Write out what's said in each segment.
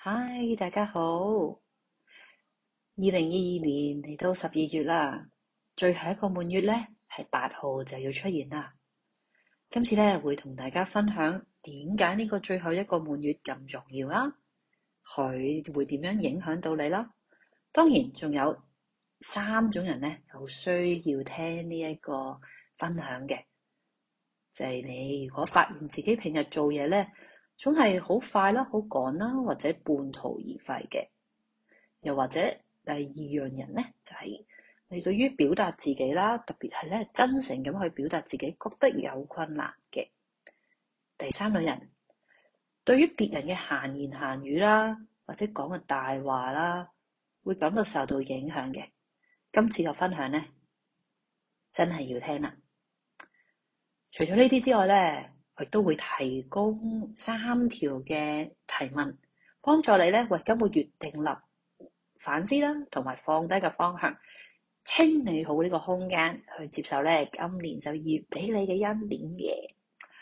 嗨，大家好。2022年嚟到12月啦，最後一個滿月咧係8號就要出現啦。今次咧會同大家分享點解呢個最後一個滿月咁重要啦，佢會點樣影響到你啦。當然仲有3種人咧好需要聽呢一個分享嘅，就係你如果發現自己平日做嘢咧總係好快啦、好趕啦，或者半途而廢嘅，又或者第二樣人咧就係你對於表達自己啦，特別係咧真誠咁去表達自己，覺得有困難嘅。第三類人對於別人嘅閒言閒語啦，或者講嘅大話啦，會感到受到影響嘅。今次嘅分享咧真係要聽啦。除咗呢啲之外咧，我亦都會提供3條嘅提問，幫助你咧為今個月訂立反思啦，同埋放低嘅方向，清理好呢個空間去接受咧今年12月俾你嘅恩典嘅。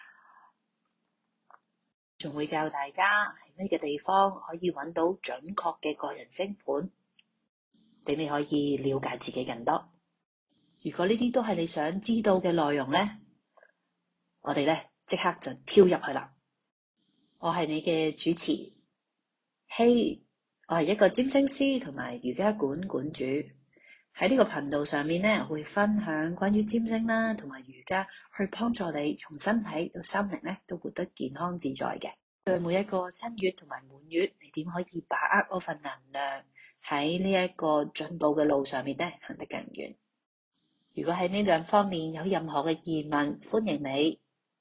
仲會教大家喺咩嘅地方可以揾到準確嘅個人星盤，令你可以了解自己更多。如果呢啲都係你想知道嘅內容咧，我哋咧即刻就跳入去啦。我係你嘅主持希，我係一個占星師同埋瑜伽館館主。喺呢個頻道上面咧，會分享關於占星啦同埋瑜伽，去幫助你從身體到心靈咧都活得健康自在嘅。對每一個新月同埋滿月，你點可以把握嗰份能量，喺呢一個進步嘅路上面咧行得更遠。如果喺呢兩方面有任何嘅疑問，歡迎你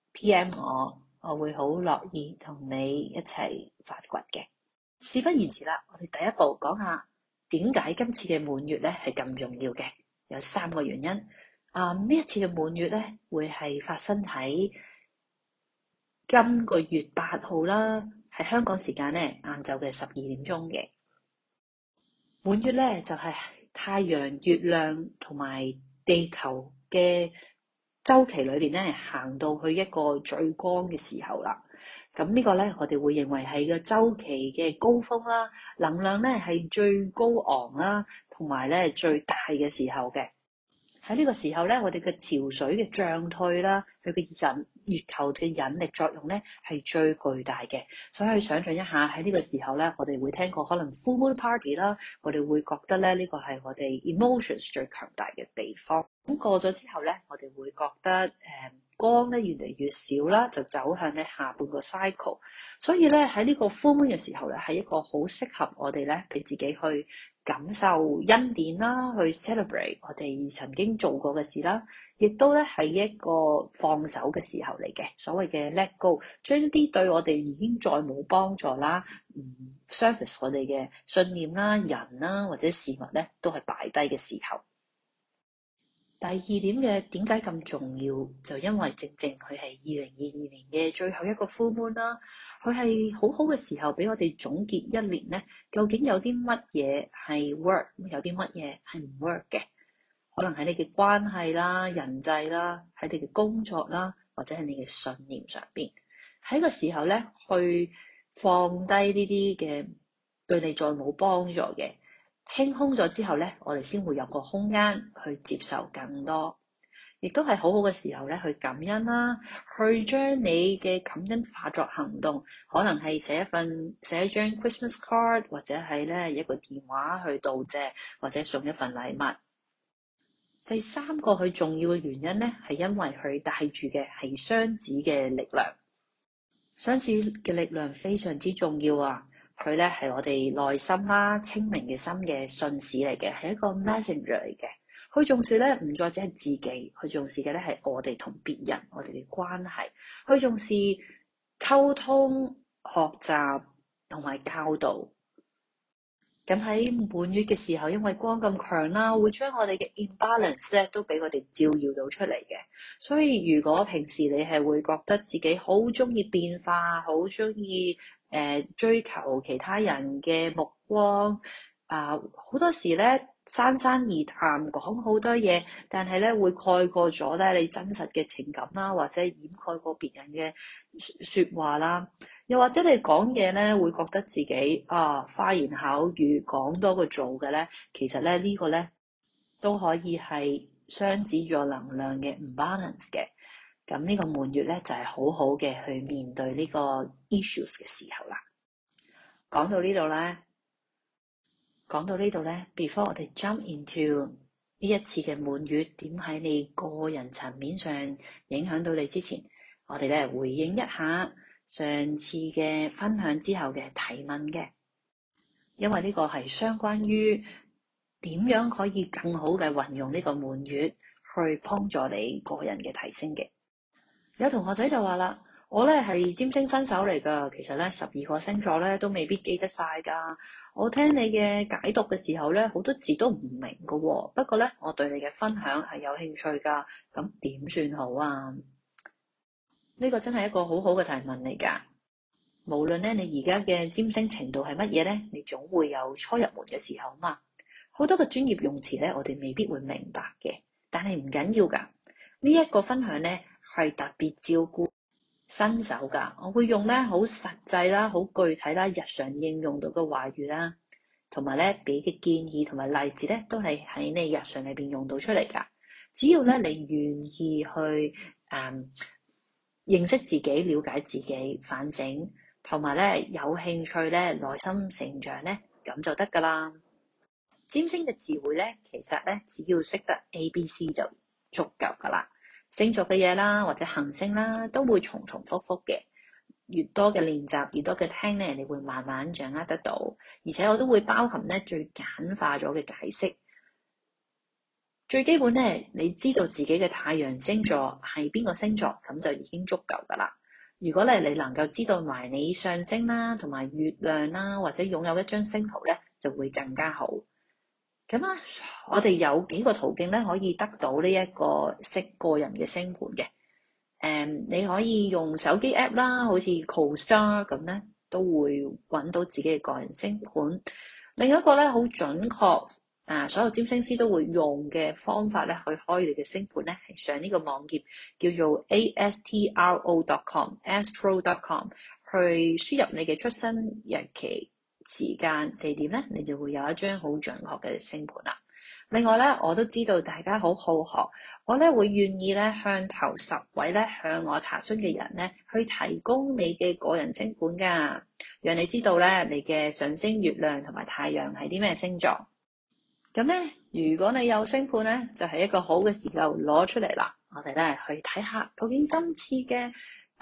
PM 我會好樂意同你一齊發掘嘅。事不宜遲啦，我哋第一步講下點解今次嘅滿月咧係咁重要嘅。有3個原因。呢一次嘅滿月咧會係發生喺今個月8號啦，係香港時間咧晏晝嘅12點鐘嘅。滿月咧就係太陽、月亮同埋地球嘅週期裏邊咧行到去一個最光嘅時候啦。咁呢個咧我哋會認為係個週期嘅高峰啦，能量咧係最高昂啦，同埋咧最大嘅時候嘅。喺呢個時候咧，我哋嘅潮水嘅漲退啦，佢嘅月球嘅引力作用咧係最巨大嘅。所以想象一下喺呢個時候咧，我哋會聽過可能 full moon party 啦，我哋會覺得咧呢個係我哋 emotions 最強大嘅地方。咁過咗之後咧，我哋會覺得光咧越嚟越少啦，就走向咧下半個 cycle。所以咧喺呢個 full moon 嘅時候咧，係一個好適合我哋咧俾自己去感受恩典啦，去 celebrate 我哋曾經做過嘅事啦，亦都咧係一個放手嘅時候嚟嘅。所謂嘅 let go， 將一啲對我哋已經再冇幫助啦，service 我哋嘅信念啦、人啦或者事物咧，都係擺低嘅時候。第二點嘅點解咁重要，就因為正正佢係2022年嘅最後一個 full moon 啦，佢係好好嘅時候俾我哋總結一年咧，究竟有啲乜嘢係 work， 有啲乜嘢係唔 work 嘅，可能喺你嘅關係啦、人際啦，喺你嘅工作啦，或者係你嘅信念上邊，喺個時候咧去放低呢啲嘅對你再冇幫助嘅。清空咗之後咧，我哋先會有個空間去接受更多，亦都係好好嘅時候咧去感恩啦，去將你嘅感恩化作行動，可能係寫一張 Christmas card， 或者係咧一個電話去道謝，或者送一份禮物。第3個佢重要嘅原因咧，係因為佢帶住嘅係雙子嘅力量。雙子嘅力量非常之重要啊！佢咧係我哋內心啦、清明嘅心嘅信使嚟嘅，係一個 messenger 嚟嘅。佢重視咧唔再只係自己，佢重視嘅咧係我哋同別人我哋嘅關係。佢重視溝通、學習同埋教導。咁喺滿月嘅時候，因為光咁強啦，會將我哋嘅 imbalance 咧都俾我哋照耀到出嚟嘅。所以如果平時你係會覺得自己好中意變化，好中意追求其他人嘅目光，好多時咧珊珊而談講好多嘢，但係咧會蓋過咗咧你真實嘅情感啦，或者掩蓋過別人嘅說話啦。 又或者你講嘢咧會覺得自己花言巧語講多過做嘅咧，其實咧呢個咧都可以係雙子座能量嘅唔 balance 嘅。咁呢個滿月咧就係好好嘅去面對呢個 issues 嘅時候啦。講到呢度咧 before 我哋 jump into 呢一次嘅滿月點喺你個人層面上影響到你之前，我哋咧回應一下上次嘅分享之後嘅提問嘅，因為呢個係相關於點樣可以更好嘅運用呢個滿月去幫助你個人嘅提升嘅。有同學仔就話啦，我咧係占星新手嚟噶，其實咧12個星座咧都未必記得晒噶。我聽你嘅解讀嘅時候咧，好多字都唔明噶喎。不過咧，我對你嘅分享係有興趣噶，咁點算好啊？呢個真係一個好好嘅提問嚟噶。無論咧你而家嘅占星程度係乜嘢咧，你總會有初入門嘅時候嘛。好多嘅專業用詞咧，我哋未必會明白嘅，但係唔緊要噶。呢一個分享咧係特別照顧新手噶，我會用咧好實際啦、好具體啦、日常應用到嘅話語啦，同埋咧俾嘅建議同埋例子咧，都係喺你日常裏邊用到出嚟噶。只要咧你願意去認識自己、了解自己、反省，同埋咧有興趣咧內心成長咧，咁就得噶啦。占星嘅詞彙咧，其實咧只要識得 ABC 就足夠噶啦。星座嘅嘢啦，或者行星啦，都會重重複複嘅。越多嘅練習，越多嘅聽咧，你會慢慢掌握得到。而且我都會包含咧最簡化咗嘅解釋。最基本咧，你知道自己嘅太陽星座係邊個星座，咁就已經足夠噶啦。如果咧你能夠知道埋你上升啦，同埋月亮啦，或者擁有一張星圖咧，就會更加好。咁啊，我哋有幾個途徑咧，可以得到呢一個識個人嘅星盤嘅。你可以用手機 app 啦，好似 CoStar 咁咧，都會揾到自己嘅個人星盤。另一個咧，好準確所有占星師都會用嘅方法咧，去開你嘅星盤咧，係上呢個網頁叫做 astro.com 去輸入你嘅出生日期、時間、地點咧，你就會有一張好準確嘅星盤啦。另外咧，我都知道大家好好學，我咧會願意咧向頭10位咧向我查詢嘅人咧，去提供你嘅個人星盤噶，讓你知道咧你嘅上升、月亮同埋太陽係啲咩星座。咁咧，如果你有星盤咧，就係一個好嘅時候攞出嚟啦。我哋咧去睇下究竟今次嘅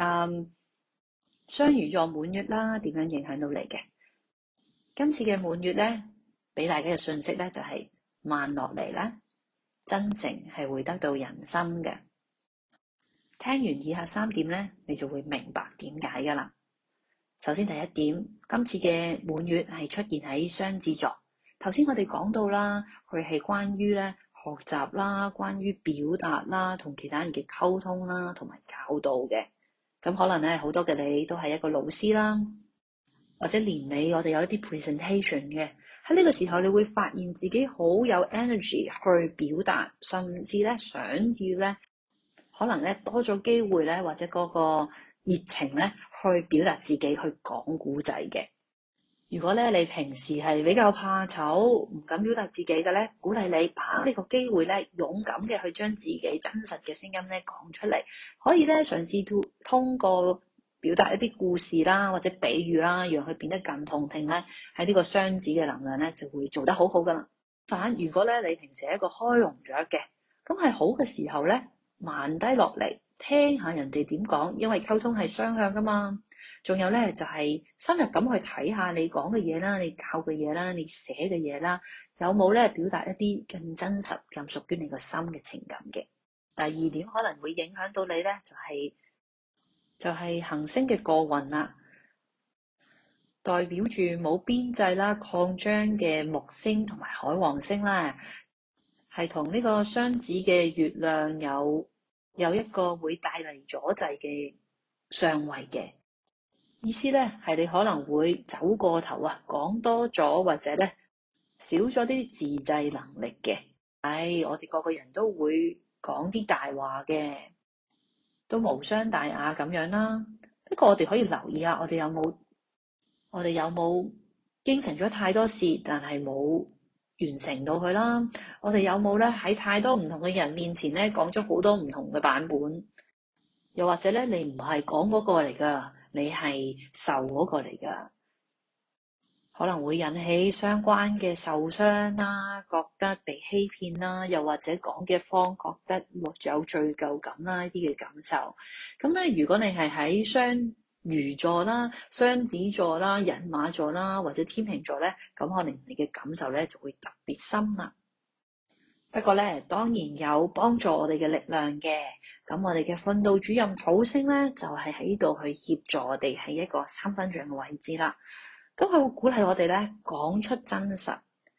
雙魚座滿月啦，點樣影響到你嘅？今次嘅滿月咧，俾大家嘅信息咧就係慢落嚟啦，真誠係會得到人心嘅。聽完以下3點咧，你就會明白點解噶啦。首先第一點，今次嘅滿月係出現喺雙子座。頭先我哋講到啦，佢係關於咧學習啦，關於表達啦，同其他人嘅溝通啦，同埋教導嘅。咁可能咧好多嘅你都係一個老師啦，或者年尾我哋有一啲 presentation 嘅。喺呢個時候，你會發現自己好有 energy 去表達，甚至咧想要咧，可能咧多咗機會咧，或者嗰個熱情咧，去表達自己，去講故仔嘅。如果咧你平時係比較怕醜，唔敢表達自己嘅咧，鼓勵你把呢個機會咧，勇敢嘅去將自己真實嘅聲音咧講出嚟，可以咧嘗試通過表達一啲故事啦，或者比喻啦，讓佢變得更動聽咧。喺呢個雙子嘅能量咧，就會做得好好噶啦。反如果咧你平時係一個開籠雀嘅，咁係好嘅時候咧，慢低落嚟聽下人哋點講，因為溝通係雙向噶嘛。仲有咧就係深入咁去睇下你講嘅嘢啦，你教嘅嘢啦，你寫嘅嘢啦，有冇咧表達一啲更真實、更屬於你個心嘅情感嘅。第二點可能會影響到你咧，就係行星嘅過運啦，代表住冇邊際啦、擴張嘅木星同埋海王星啦，係同呢個雙子嘅月亮有一個會帶嚟阻滯嘅相位嘅。意思咧係你可能會走過頭啊，講多咗或者咧少咗啲自制能力嘅。我哋個個人都會講啲大話嘅，都無傷大雅咁樣啦。 不過我哋可以留意下，我哋有冇應承咗太多事，但係冇完成到佢啦？我哋有冇咧喺太多唔同嘅人面前咧講咗好多唔同嘅版本？又或者咧，你唔係講嗰個嚟噶，你係受嗰個嚟噶，可能會引起相關嘅受傷啦，覺得被欺騙啦，又或者講嘅方覺得有罪疚感啦，呢啲嘅感受。咁咧，如果你係喺雙魚座啦、雙子座啦、人馬座啦，或者天秤座咧，咁可能你嘅感受咧就會特別深啦。不過咧，當然有幫助我哋嘅力量嘅。咁我哋嘅訓導主任土星咧，就係喺度去協助我哋喺一個三分像嘅位置啦。咁佢會鼓勵我哋咧講出真實、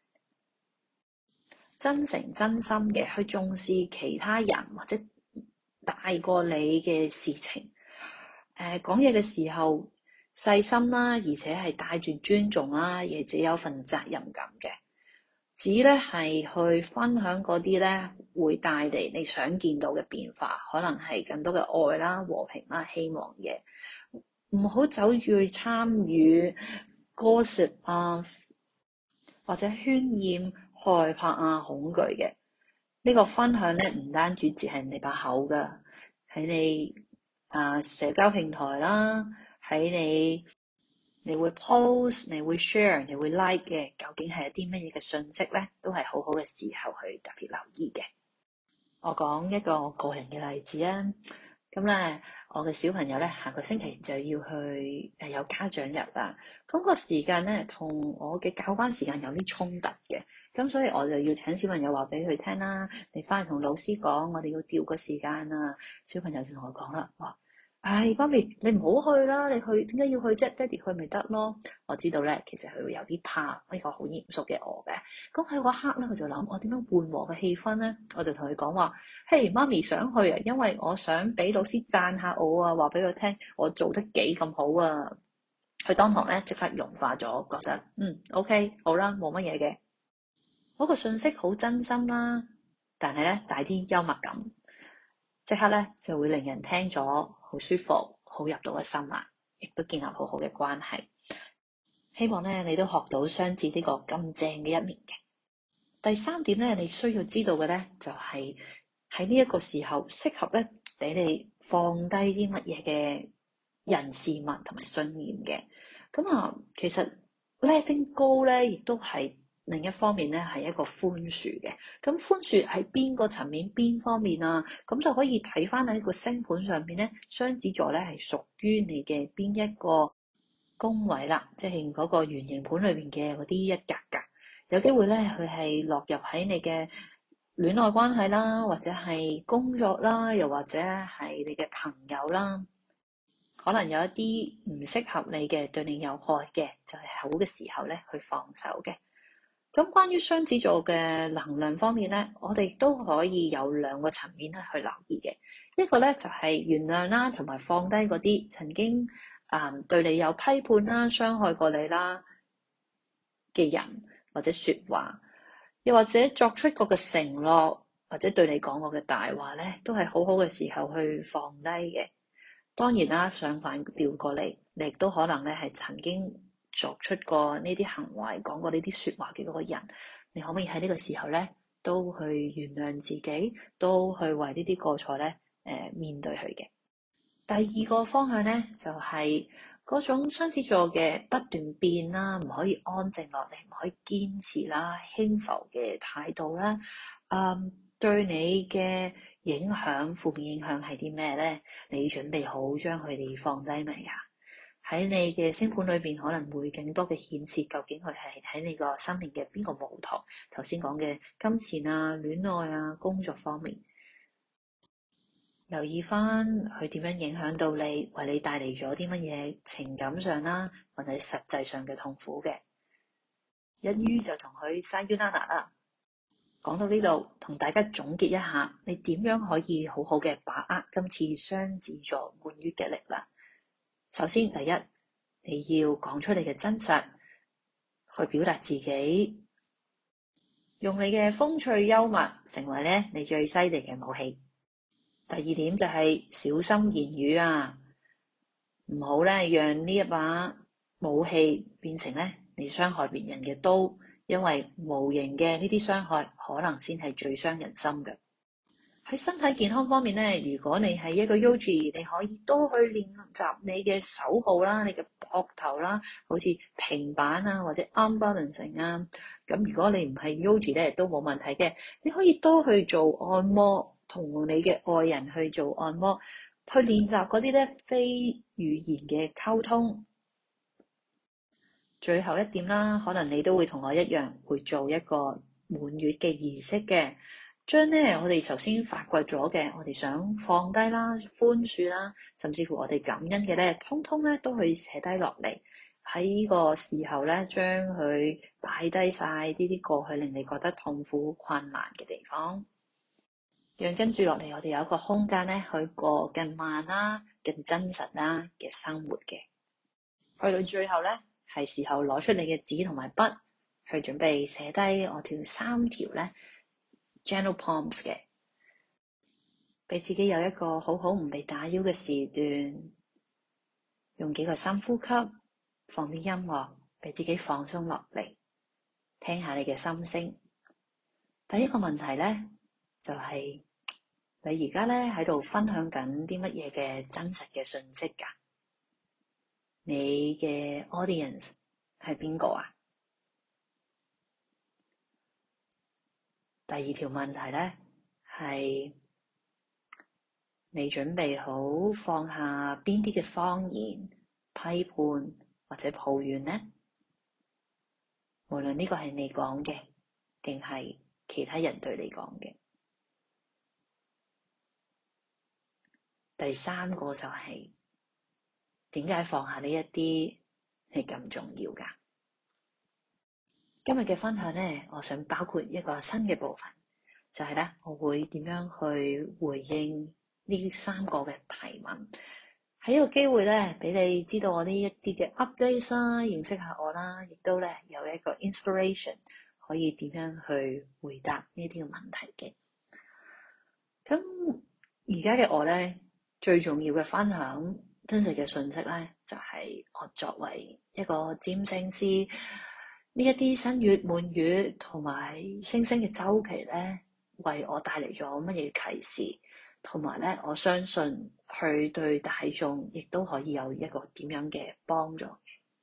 真誠、真心嘅去重視其他人或者大過你嘅事情。講嘢嘅時候細心啦，而且係帶住尊重啦，而且有份責任感嘅。只咧係去分享嗰啲咧會帶嚟你想見到嘅變化，可能係更多嘅愛啦、和平啦、希望嘅。唔好走去參與gossip啊，或者渲染害怕啊、恐懼嘅。呢個分享咧唔單止只係你把口噶，喺你社交平台啦，喺你會 post， 你會 share， 你會 like 嘅，究竟係一啲乜嘢嘅信息咧，都係好好嘅時候去特別留意嘅。我講一個個人嘅例子啊，咁咧我嘅小朋友咧下個星期就要去有家長日啦，咁個時間咧同我嘅教班時間有啲衝突嘅，咁所以我就要請小朋友話俾佢聽啦，你翻去同老師講，我哋要調個時間啊。小朋友就同我講啦，哇！唉，媽咪，你唔好去啦！你去點解要去啫？爹哋去咪得咯？我知道咧，其實佢會有啲怕呢個好嚴肅嘅我嘅。咁喺嗰刻咧，佢就諗我點樣緩和嘅氣氛咧？我就同佢講話：嘿，媽咪想去啊，因為我想俾老師讚下我啊，話俾佢聽我做得幾咁好啊！佢當堂咧即刻融化咗，覺得OK 好啦，冇乜嘢嘅。嗰個信息好真心啦，但係咧帶啲幽默感。即刻咧就會令人聽咗好舒服，好入到個心啦，亦都建立好好嘅關係。希望咧你都學到雙子呢個咁正嘅一面嘅。第三點咧，你需要知道嘅咧就係喺呢一個時候適合咧俾你放低啲乜嘢嘅人事物同埋信念嘅。咁其實 letting go 咧亦都係。另一方面咧，係一個寬恕嘅。咁寬恕喺邊個層面、邊方面啊？咁就可以睇翻喺個星盤上邊咧，雙子座咧係屬於你嘅邊一個宮位啦，即係嗰個圓形盤裏邊嘅嗰啲一格格。有機會咧，佢係落入喺你嘅戀愛關係啦，或者係工作啦，又或者係你嘅朋友啦，可能有一啲唔適合你嘅，對你有害嘅，就係好嘅時候咧去放手嘅。咁關於雙子座嘅能量方面咧，我哋都可以有兩個層面咧去留意嘅。一個咧就係原諒啦，同埋放低嗰啲曾經對你有批判啦、傷害過你啦嘅人或者說話，又或者作出過嘅承諾，或者對你講過嘅大話咧，都係好好嘅時候去放低嘅。當然啦，相反調過嚟，你亦都可能咧係曾經作出過呢啲行為、講過呢啲說話嘅嗰個人，你可唔可以喺呢個時候咧，都去原諒自己，都去為呢啲過錯咧，面對佢嘅。第二個方向咧，就係嗰種雙子座嘅不斷變啦，唔可以安靜落嚟，唔可以堅持啦，輕浮嘅態度啦，對你嘅影響，負面影響係啲咩咧？你準備好將佢哋放低未啊？喺你嘅星盤裏邊可能會更多嘅顯示，究竟佢係喺你個生命嘅邊個舞台？頭先講嘅金錢啊、戀愛啊、工作方面，留意翻佢點樣影響到你，為你帶嚟咗啲乜嘢情感上啦，或者實際上嘅痛苦嘅。一於就同佢 sayonara 啦。講到呢度，同大家總結一下，你點樣可以好好嘅把握今次雙子座滿月嘅力量？首先，第一，你要講出你嘅真實，去表達自己，用你嘅風趣幽默成為咧你最犀利嘅武器。第二點就係小心言語啊， 唔好咧讓呢一把武器變成咧你傷害別人嘅刀，因為無形嘅呢啲傷害可能先係最傷人心嘅。喺身體健康方面咧，如果你係一個 Yogi，你可以多去練習你嘅手部啦、你嘅膊頭啦，好似平板啊或者 arm balancing 啊。咁如果你唔係 Yogi 咧，都冇問題嘅，你可以多去做按摩，同你嘅愛人去做按摩，去練習嗰啲咧非語言嘅溝通。最後一點啦，可能你都會同我一樣會做一個滿月嘅儀式嘅。將咧我哋頭先發掘咗嘅，我哋想放低啦、寬恕啦，甚至乎我哋感恩嘅咧，通通咧都可以寫低落嚟。喺呢個時候咧，將佢擺低晒呢啲過去令你覺得痛苦、困難嘅地方，讓跟住落嚟我哋有一個空間咧去過更慢啦、更真實啦嘅生活嘅。去到最後咧，係時候攞出你嘅紙同埋筆，去準備寫低我條3條咧。Gentle Prompts 嘅，俾自己有一個好好唔被打擾嘅時段，用幾個深呼吸，放啲音樂，俾自己放鬆落嚟，聽下你嘅心聲。第一個問題咧，就係你而家咧喺度分享緊啲乜嘢嘅真實嘅信息㗎？你嘅 audience 係邊個啊？第二條問題咧係你準備好放下邊啲嘅謊言、批判或者抱怨呢？無論呢個係你講嘅，定係其他人對你講嘅。第三個就係點解放下呢一啲係咁重要㗎？今日嘅分享呢，我想包括一個新嘅部分，就係咧，我會點樣去回應呢3個嘅提問。喺呢個機會咧，俾你知道我呢一啲嘅 update 啦，認識下我啦，亦都咧有一個 inspiration 可以點樣去回答呢啲嘅問題嘅。咁而家嘅我咧，最重要嘅分享真實嘅信息咧，就係我作為一個占星師，呢一啲新月、滿月同埋星星嘅週期咧，為我帶嚟咗乜嘢啟示，同埋咧，我相信佢對大眾亦都可以有一個點樣嘅幫助。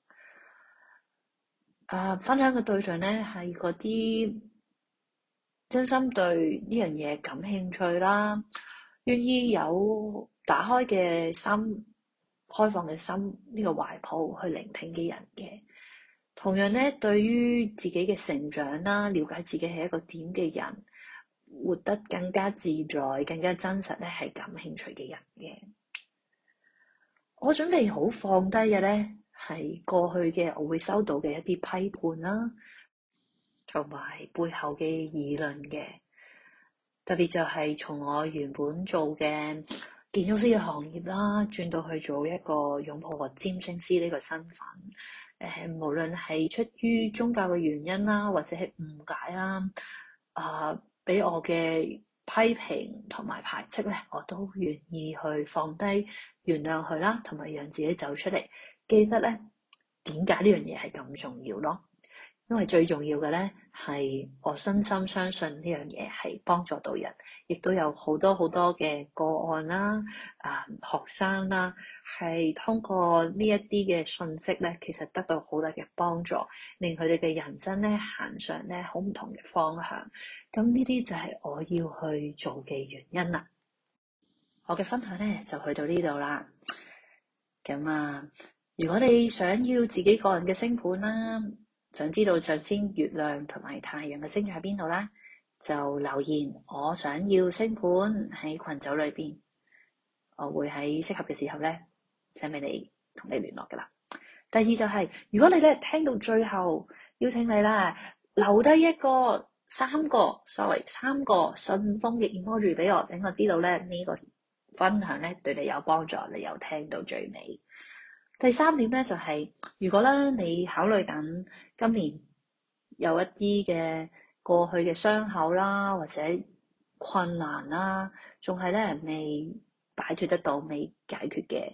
分享嘅對象咧係嗰啲真心對呢樣嘢感興趣啦，願意有打開嘅心、開放嘅心呢個懷抱去聆聽嘅人嘅。同樣咧，對於自己嘅成長啦，了解自己係一個點嘅人，活得更加自在、更加真實咧，係感興趣嘅人嘅。我準備好放低嘅咧，係過去嘅我會收到嘅一啲批判啦，同埋背後嘅議論嘅。特別就係從我原本做嘅建築師嘅行業啦，轉到去做一個擁抱個占星師呢個身份。無論係出於宗教嘅原因啦，或者係誤解啦，俾我嘅批評同埋排斥咧，我都願意去放低、原諒佢啦，同埋讓自己走出嚟。記得咧，點解呢樣嘢係咁重要咯？因為最重要嘅咧，係我真心相信呢樣嘢係幫助到人，亦都有好多好多嘅個案啦，學生啦，係通過呢一啲嘅信息咧，其實得到好大嘅幫助，令佢哋嘅人生咧行上咧好唔同嘅方向。咁呢啲就係我要去做嘅原因啦。我嘅分享咧就去到呢度啦。咁如果你想要自己個人嘅星盤啦，想知道首先月亮同埋太陽嘅星座喺邊度啦，就留言我想要星盤喺群組裏邊，我會喺適合嘅時候咧寫俾你，同你聯絡噶啦。第二就係，如果你咧聽到最後，邀請你啦，留低一個三個信封嘅 emoji 俾我，等我知道咧呢個分享咧對你有幫助，你有聽到最尾。第三點咧就係，如果咧你考慮緊今年有一啲嘅過去嘅傷口啦，或者困難啦，仲係咧未擺脫得到、未解決嘅，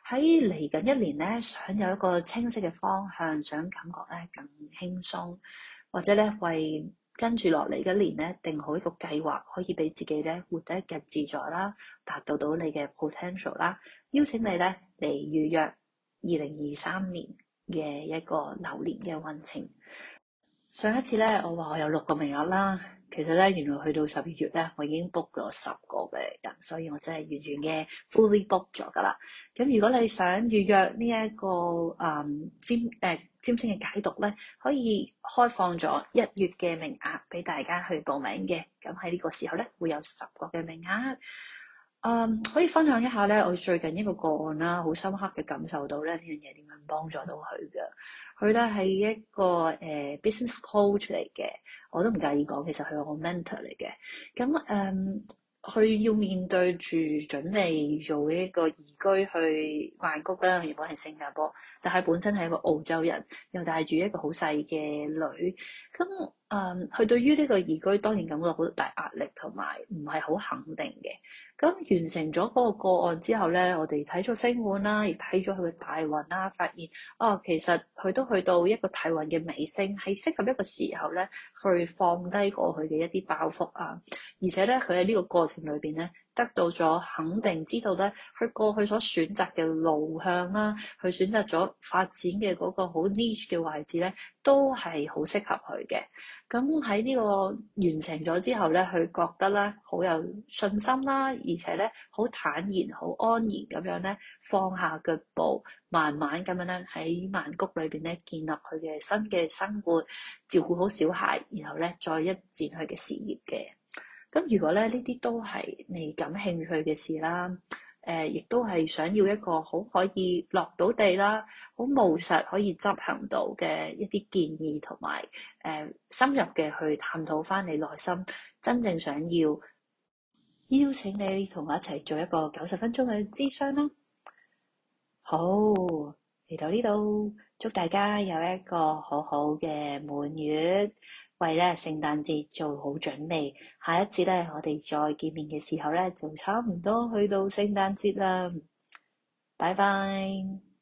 喺嚟緊一年咧，想有一個清晰嘅方向，想感覺咧更輕鬆，或者咧為跟住落嚟嘅一年咧定好一個計劃，可以俾自己咧活得更自在啦，達到你嘅 potential 啦。邀請你咧嚟預約2023年嘅一個流年嘅運程。上一次咧，我話我有6個名額啦，其實咧原來去到12月咧，我已經 book 咗10個嘅人，所以我真係完全嘅 fully book 咗噶啦。咁如果你想預約呢一個占星嘅解讀咧，可以開放咗1月嘅名額俾大家去報名嘅。咁喺呢個時候咧，會有10個嘅名額。可以分享一下咧，我最近一個個案啦，好深刻嘅感受到咧呢樣嘢點樣幫助到佢嘅。佢咧係一個business coach 嚟嘅，我都唔介意講，其實佢係我 mentor 嚟嘅。咁佢要面對住準備做一個移居去曼谷啦，原本係新加坡，但係本身係一個澳洲人，又帶住一個好細嘅女。咁佢對於呢個移居當然感覺好大壓力，同埋唔係好肯定嘅。咁完成咗嗰個個案之後咧，我哋睇咗星盤啦，亦睇咗佢嘅大運啦，發現其實佢都去到一個大運嘅尾聲，係適合一個時候咧去放低過去嘅一啲包袱啊，而且咧佢喺呢個過程裏邊咧得到咗肯定，知道咧佢過去所選擇嘅路向啦，佢選擇咗發展嘅嗰個好 niche 嘅位置咧，都係好適合佢嘅。咁喺呢個完成咗之後咧，佢覺得咧好有信心啦，而且咧好坦然、好安然咁樣咧放下腳步，慢慢咁樣咧喺曼谷裏邊咧建立佢嘅新嘅生活，照顧好小孩，然後咧再一展佢嘅事業嘅。咁如果咧呢啲都係你感興趣嘅事啦，亦都係想要一個好可以落到地啦，好務實可以執行到嘅一啲建議，同埋深入嘅去探討翻你內心真正想要，邀請你同我一齊做一個90分鐘嘅諮詢啦。好，嚟到呢度，祝大家有一個好好嘅滿月，為咧聖誕節做好準備。下一次咧，我哋再見面嘅時候咧，就差唔多去到聖誕節啦。拜拜。